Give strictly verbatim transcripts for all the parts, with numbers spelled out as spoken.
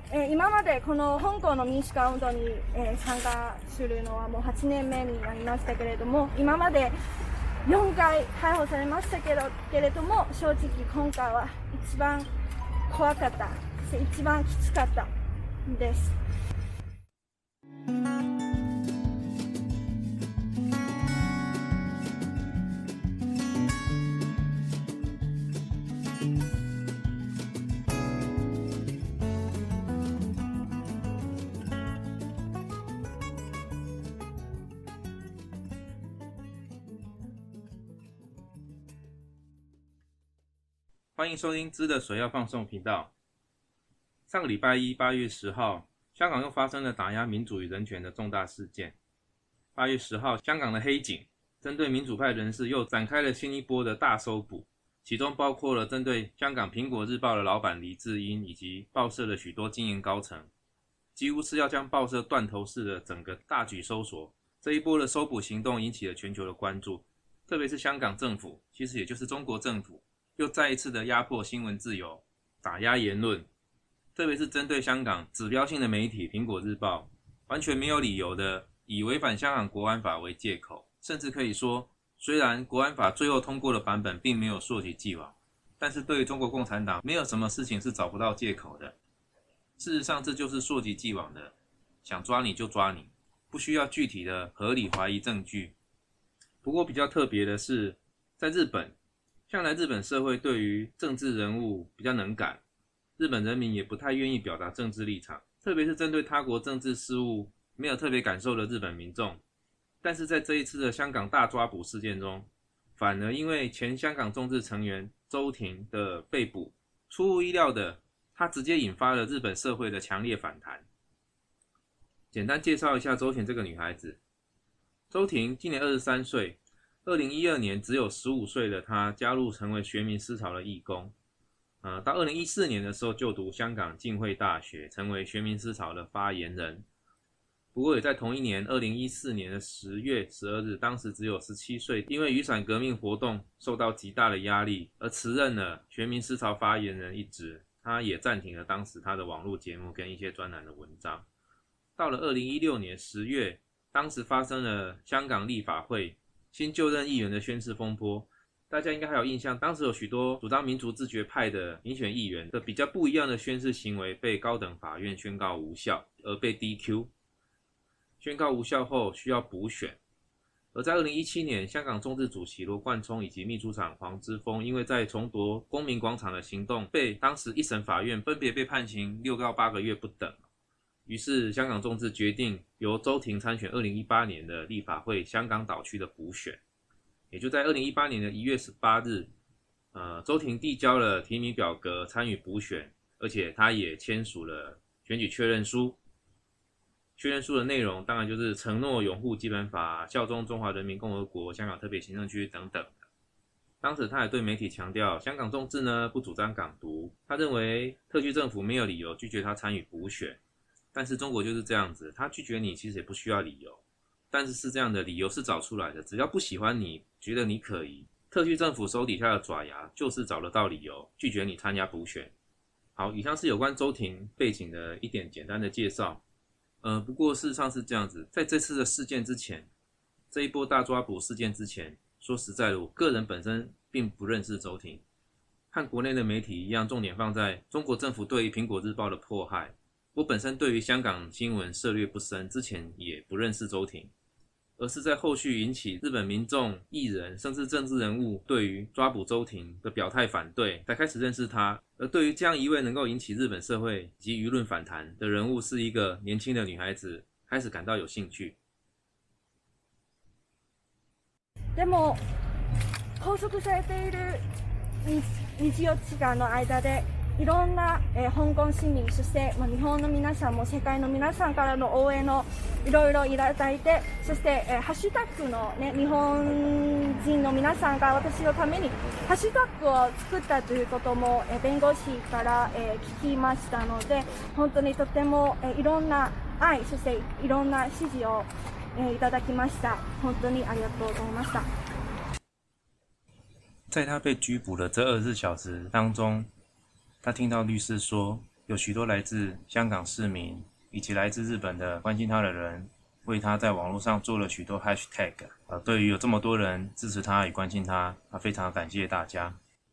えー、今までこの香港の民主化運動に、えー、参加するのはもうはちねんめになりましたけれども、今までよんかい逮捕されましたけどけれども、正直今回は一番怖かった、一番きつかったです。 欢迎收听知的水要放送频道。上个礼拜一，八月十号，香港又发生了打压民主与人权的重大事件。八月十号，香港的黑警针对民主派人士又展开了新一波的大搜捕，其中包括了针对香港苹果日报的老板黎智英以及报社的许多经营高层，几乎是要将报社断头式的整个大举搜索。这一波的搜捕行动引起了全球的关注，特别是香港政府，其实也就是中国政府，又再一次的压迫新闻自由，打压言论，特别是针对香港指标性的媒体苹果日报，完全没有理由的以违反香港国安法为借口，甚至可以说，虽然国安法最后通过的版本并没有溯及既往，但是对于中国共产党没有什么事情是找不到借口的。事实上这就是溯及既往的，想抓你就抓你，不需要具体的合理怀疑证据。不过比较特别的是，在日本，向来日本社会对于政治人物比较能感，日本人民也不太愿意表达政治立场，特别是针对他国政治事务没有特别感受的日本民众。但是在这一次的香港大抓捕事件中，反而因为前香港众志成员周庭的被捕，出乎意料的，他直接引发了日本社会的强烈反弹。简单介绍一下周庭这个女孩子。周庭今年二十三岁，二零一二年只有十五岁的她加入成为学民思潮的义工，呃，到二零一四年的时候就读香港浸会大学，成为学民思潮的发言人。不过也在同一年二零一四年的十月十二日，当时只有十七岁，因为雨伞革命活动受到极大的压力而辞任了学民思潮发言人一职，他也暂停了当时他的网络节目跟一些专栏的文章。到了二零一六年十月，当时发生了香港立法会新就任议员的宣誓风波，大家应该还有印象，当时有许多主张民族自决派的民选议员的比较不一样的宣誓行为被高等法院宣告无效，而被 D Q。 宣告无效后需要补选。而在二零一七年，香港众志主席罗冠聪以及秘书长黄之锋因为在重夺公民广场的行动被当时一审法院分别被判刑六到八个月不等，于是香港众志决定由周庭参选二零一八年的立法会香港岛区的补选。也就在二零一八年的一月十八日，呃，周庭递交了提名表格参与补选，而且他也签署了选举确认书。确认书的内容当然就是承诺拥护基本法，效忠中华人民共和国香港特别行政区等等。当时他也对媒体强调，香港众志呢不主张港独，他认为特区政府没有理由拒绝他参与补选。但是中国就是这样子，他拒绝你其实也不需要理由，但是是这样的，理由是找出来的，只要不喜欢你，觉得你可疑，特区政府手底下的爪牙就是找得到理由拒绝你参加补选。好，以上是有关周庭背景的一点简单的介绍。呃，不过事实上是这样子，在这次的事件之前，这一波大抓捕事件之前，说实在的，我个人本身并不认识周庭，和国内的媒体一样，重点放在中国政府对于苹果日报的迫害。我本身对于香港新闻涉猎不深，之前也不认识周庭，而是在后续引起日本民众、艺人甚至政治人物对于抓捕周庭的表态反对，才开始认识他。而对于这样一位能够引起日本社会及舆论反弹的人物，是一个年轻的女孩子，开始感到有興趣。 でも拘束されているにじよっかんの間でいろんな、えー、香港市民、そして、まあ、日本の皆さんも世界の皆さんからの応援をいろいろいただいて、そして、えー、ハッシュタグの、ね、日本人の皆さんが私のためにハッシュタグを作ったということも、えー、弁護士から、えー、聞きましたので、本当にとても、えー、いろんな愛、そしていろんな支持を、えー、いただきました。本当にありがとうございました。 在他被拘捕的这二十四小时当中，他听到律师说， 有许多来自香港市民以及来自日本的关心他的人，为他在网络上做了许多 hashtag。呃，对于有这么多人支持他与关心他，他非常感谢大家。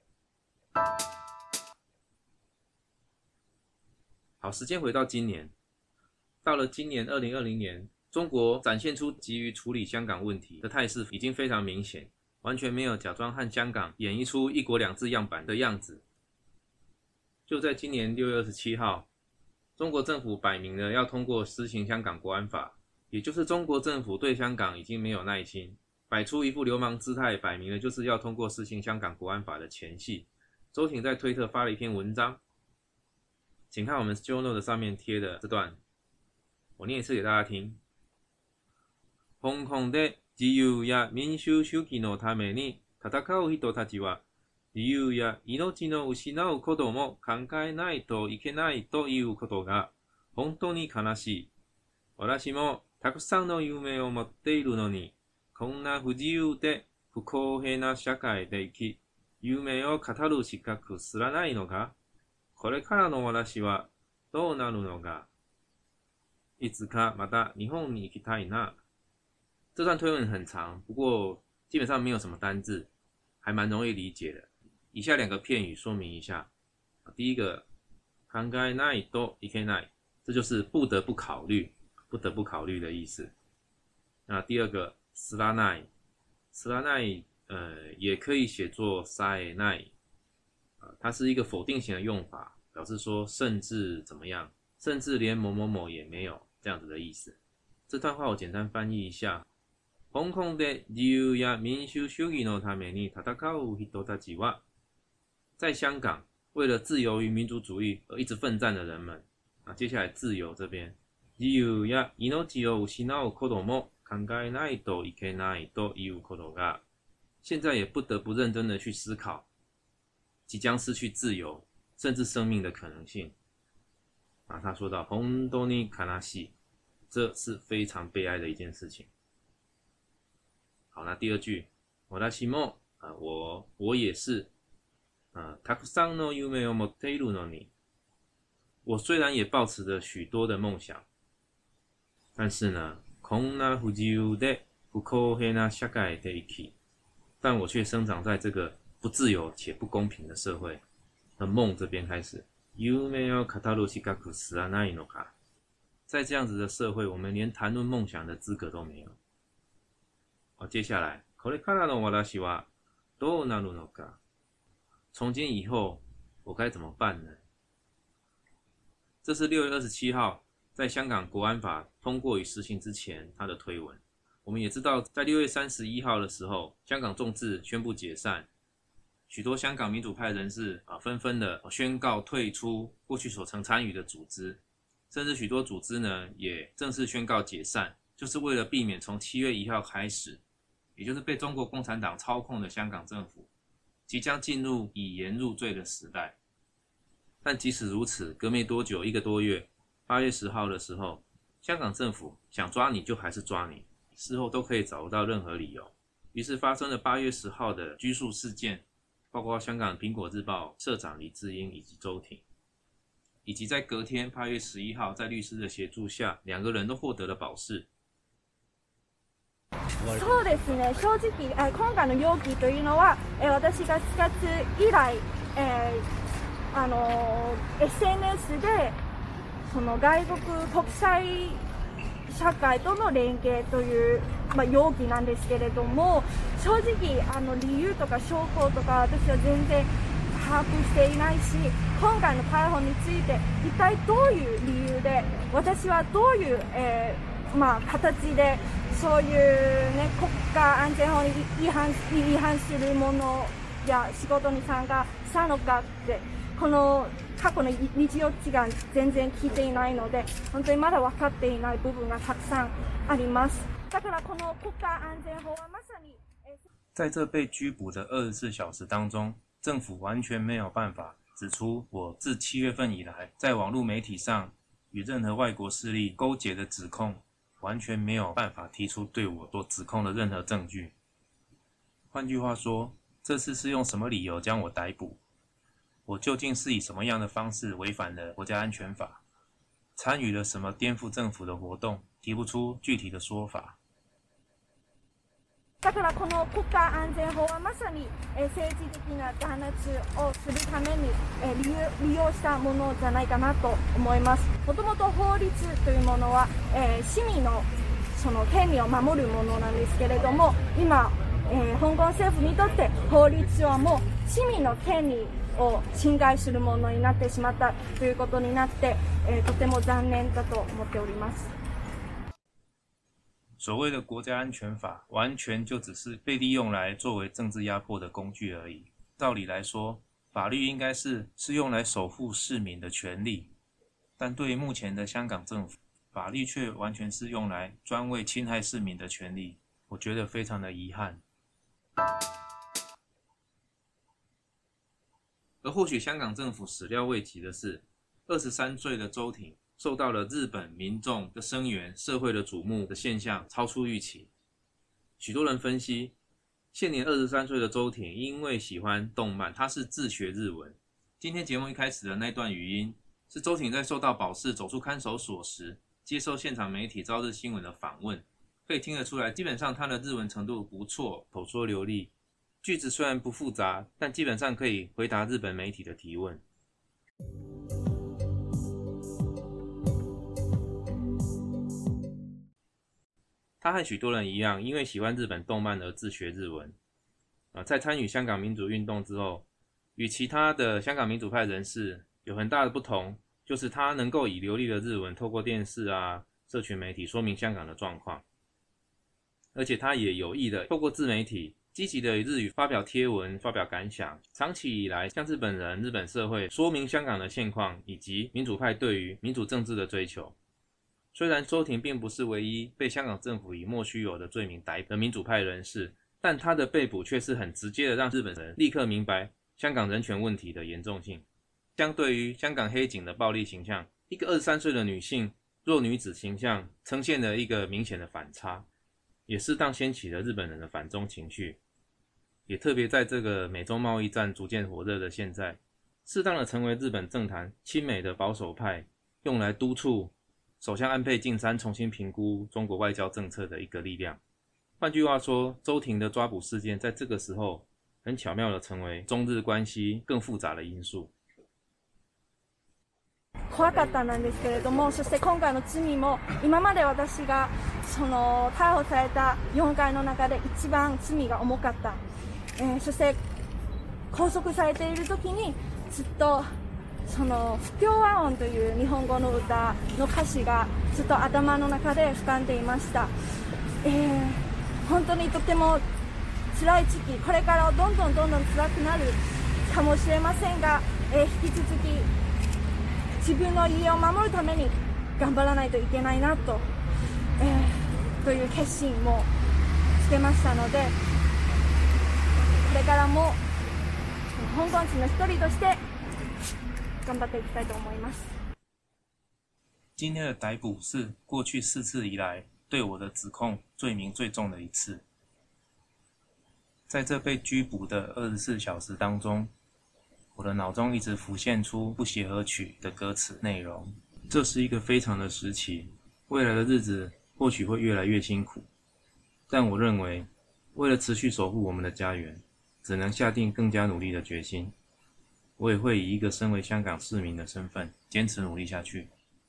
好，时间回到今年，到了今年二零二零年，中国展现出急于处理香港问题的态势已经非常明显，完全没有假装和香港演绎出一国两制样板的样子。就在今年六月二十七号，中国政府摆明了要通过施行香港国安法，也就是中国政府对香港已经没有耐心，摆出一副流氓姿态，摆明了就是要通过施行香港国安法的前戏。周庭在推特发了一篇文章，请看我们 show note 上面贴的这段，我念一次给大家听。香港で自由や民主主義のために戦う人たちは、自由や命の失うことも考えないといけないということが本当に悲しい。私もたくさんの夢を持っているのに、こんな不自由で不公平な社会で生き、夢を語る資格すらないのか。これからの私はどうなるのか。いつかまた日本に行きたいな。这段推文很长，不过基本上没有什么单字，还蛮容易理解的。以下两个片语说明一下。第一个，考えないといけない，这就是不得不考虑，不得不考虑的意思。那第二个，知らない，知らない，呃，也可以写作さえない。它是一个否定型的用法，表示说甚至怎么样，甚至连某某某也没有这样子的意思。这段话我简单翻译一下。香港で自由や民主主義のために戦う人たちは，在香港为了自由与民主主义而一直奋战的人们。啊，接下来自由这边，自由や命を失うことも考えないといけないということが，现在也不得不认真的去思考即将失去自由甚至生命的可能性。啊，他说到本当に悲しい，这是非常悲哀的一件事情。好，那第二句，私も、呃、我我也是，呃、たくさんの夢を持っているのに，我虽然也抱持着许多的梦想，但是呢，こんな不自由で不公平な社会で生き，但我却生长在这个不自由且不公平的社会。的梦这边开始，夢を語る資格すらないのか，在这样子的社会，我们连谈论梦想的资格都没有。好，接下来，これからの私はどうなるのか？从今以后，我该怎么办呢？这是六月二十七号在香港国安法通过与实行之前他的推文。我们也知道，在六月三十一号的时候，香港众志宣布解散，许多香港民主派人士啊纷纷的宣告退出过去所曾参与的组织，甚至许多组织呢也正式宣告解散，就是为了避免从七月一号开始，也就是被中国共产党操控的香港政府即将进入以言入罪的时代。但即使如此，隔没多久，一个多月，八月十号的时候，香港政府想抓你就还是抓你，事后都可以找不到任何理由。于是发生了八月十号的拘束事件，包括香港苹果日报社长李志英以及周庭，以及在隔天八月十一号在律師的協助下，兩個人都獲得了保釋。 そうですね、正直今回の容疑というのは私がしがつ以来、えーあの エスエヌエス でその外国国際社会との連携という、まあ、容疑なんですけれども、正直あの理由とか証拠とか私は全然把握していないし、今回の逮捕について一体どういう理由で、私はどういう、えーまあ、形でそういう、ね、国家安全法に違反、違反するものや仕事に参加したのかって、この過去の日常値が全然聞いていないので、本当にまだ分かっていない部分がたくさんあります。だからこの国家安全法はまさに在这被拘捕的二十四小时当中，政府完全没有办法指出我自七月份以来在网络媒体上与任何外国势力勾结的指控，完全没有办法提出对我所指控的任何证据。换句话说，这次是用什么理由将我逮捕？ 我究竟是以什么样的方式违反了国家安全法，参与了什么颠覆政府的活动，提不出具体的说法。 だからこの国家安全法はまさに、えー、政治的な弾圧をするために、えー、利用、利用したものじゃないかなと思います。もともと法律というものは、えー、市民のその権利を守るものなんですけれども、今、えー、香港政府にとって法律はもう市民の権利を侵害するものになってしまったということになって、えー、とても残念だと思っております。 所谓的国家安全法，完全就只是被利用来作为政治压迫的工具而已。道理来说，法律应该是是用来守护市民的权利，但对于目前的香港政府，法律却完全是用来专为侵害市民的权利，我觉得非常的遗憾。而或许香港政府始料未及的是，二十三岁的周庭受到了日本民众的声援、社会的瞩目的现象超出预期。许多人分析，现年二十三岁的周庭因为喜欢动漫，他是自学日文。今天节目一开始的那段语音，是周庭在受到保释走出看守所时，接受现场媒体朝日新闻的访问，可以听得出来，基本上他的日文程度不错，口说流利，句子虽然不复杂，但基本上可以回答日本媒体的提问。他和许多人一样，因为喜欢日本动漫而自学日文。呃，在参与香港民主运动之后，与其他的香港民主派人士有很大的不同，就是他能够以流利的日文透过电视啊、社群媒体说明香港的状况，而且他也有意的透过自媒体积极的日语发表贴文、发表感想，长期以来向日本人、日本社会说明香港的现况以及民主派对于民主政治的追求。虽然周庭并不是唯一被香港政府以莫须有的罪名逮捕的民主派人士，但他的被捕却是很直接的让日本人立刻明白香港人权问题的严重性。相对于香港黑警的暴力形象，一个二十三岁的女性弱女子形象呈现了一个明显的反差，也适当掀起了日本人的反中情绪，也特别在这个美中贸易战逐渐火热的现在，适当的成为日本政坛亲美的保守派用来督促首相安倍晋三重新评估中国外交政策的一个力量。换句话说，周庭的抓捕事件在这个时候很巧妙的成为中日关系更复杂的因素。 怖かったなんですけれども、そして今回の罪も今まで私がその逮捕されたよんかいの中で一番罪が重かった、えー、そして拘束されている時にずっとその不協和音という日本語の歌の歌詞がずっと頭の中で浮かんでいました、えー、本当にとても辛い時期、これからどんどんどんどん辛くなるかもしれませんが、えー、引き続き自分の家を守るために頑張らないといけないなと、えー、という決心もつけましたので、これからも香港人の一人として頑張っていきたいと思います。 今天的逮捕是过去四次以来对我的指控罪名最重的一次。在这被拘捕的二十四小时当中，我的脑中一直浮现出《不协和曲》的歌词内容。这是一个非常的时期，未来的日子或许会越来越辛苦，但我认为为了持续守护我们的家园，只能下定更加努力的决心。我也会以一个身为香港市民的身份坚持努力下去。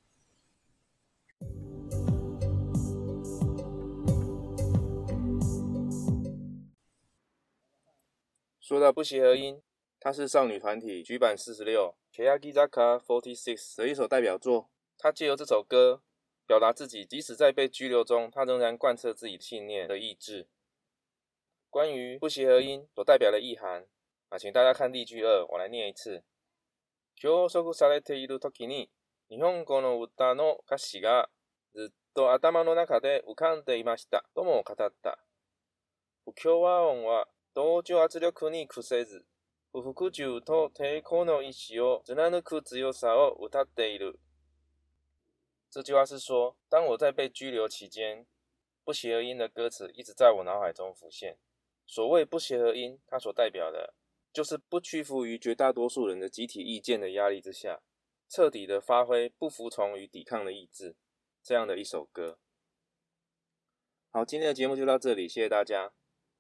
说到不协和音，它是少女团体局版四十六 Keyagizaka forty-six 的一首代表作。她借由这首歌表达自己即使在被拘留中，她仍然贯彻自己信念的意志。关于不协和音所代表的意涵啊，请大家看例句二，我来念一次。拘束されている時に日本語の歌の歌詞がずっと頭の中で浮かんでいましたとも語った。不協和音は同調圧力に屈せず、不服従と抵抗の意志を貫く強さを歌っている。这句话是说，当我在被拘留期间，不协和音的歌词一直在我脑海中浮现。所谓不协和音，它所代表的就是不屈服于绝大多数人的集体意见的压力之下，彻底的发挥不服从与抵抗的意志，这样的一首歌。好，今天的节目就到这里，谢谢大家。